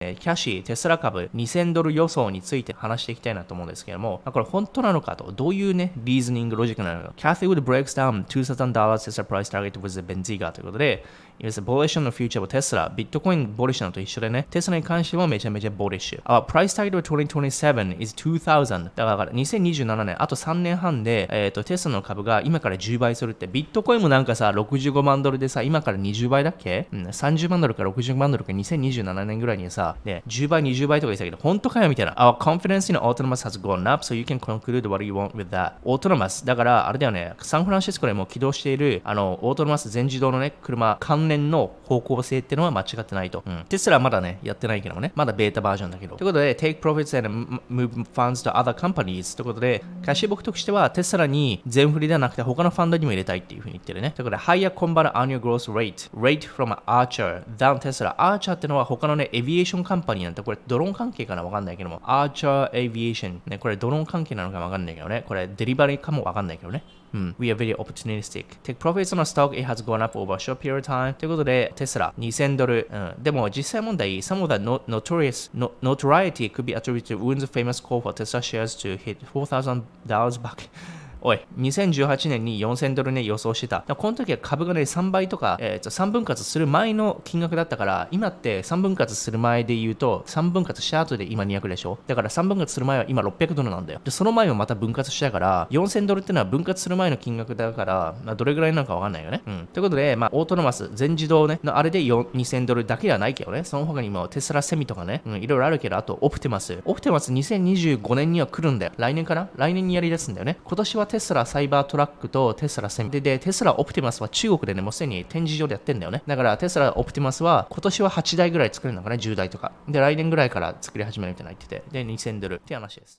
キャシー、テスラ株2000ドル予想について話していきたいなと思うんですけども、これ本当なのかと、どういうね、リーズニング、ロジックなのか。Cathy Wood breaks down $2,000 Tesla price target with the Benziga ということで、It's bullish on the future of Tesla。ビットコインボリッシュなのと一緒でね、テスラに関してもめちゃめちゃボリッシュ。Our price target of 2027 is 2000。だから2027年、あと3年半で、テスラの株が今から10倍するって、ビットコインもなんかさ、65万ドルでさ、今から20倍だっけ、30万ドルか60万ドルか2027年ぐらいにさ、ね、10倍、20倍とか言ってたけど、本当かよみたいな。Our confidence in autonomous has gone up, so you can conclude what you want with that. オートノマス。だから、あれだよね、サンフランシスコでも起動している、オートノマス全自動のね、車、関連の方向性っていうのは間違ってないと。テスラはまだね、やってないけどもね、まだベータバージョンだけど。ということで、take profits and move funds to other companies ということで、キャッシュ僕としてはテスラに全振りではなくて他のファンドにも入れたいっていうふうに言ってるね。ということで、higher compound annual growth rate from Archer than Tesla。Archer ってのは他のね、エビエーションカンパニーなんて、これドローン関係かなわかんないけども、Archer Aviation。ね、これドローン関係なのかわかんないけどね、これデリバリーかもわかんないけどね。We are very opportunistic. Take profits on a stock, it has gone up over a short period of time. ということで、テスラ2000ドル。でも実際問題、some of the notoriety could be attributed to Woon's famous call for Tesla shares to hit $4,000 back. おい、2018年に4000ドルね、予想してた。この時は株がね、3倍とか、3分割する前の金額だったから、今って3分割する前で言うと、3分割した後で今200でしょ。だから3分割する前は今600ドルなんだよ。で、その前もまた分割したから、4000ドルってのは分割する前の金額だから、どれぐらいなのかわかんないよね。ということで、オートノマス、全自動ね、のあれで2000ドルだけではないけどね、その他にもテスラセミとかね、いろいろあるけど、あとオプティマス。オプティマス2025年には来るんだよ。来年かな、来年にやり出すんだよね。今年はテスラサイバートラックとテスラセミで、テスラオプティマスは中国でね、もうすでに展示場でやってんだよね。だからテスラオプティマスは今年は8台ぐらい作れるのかね、10台とか。で、来年ぐらいから作り始めるみたいな言ってて、で、2000ドルって話です。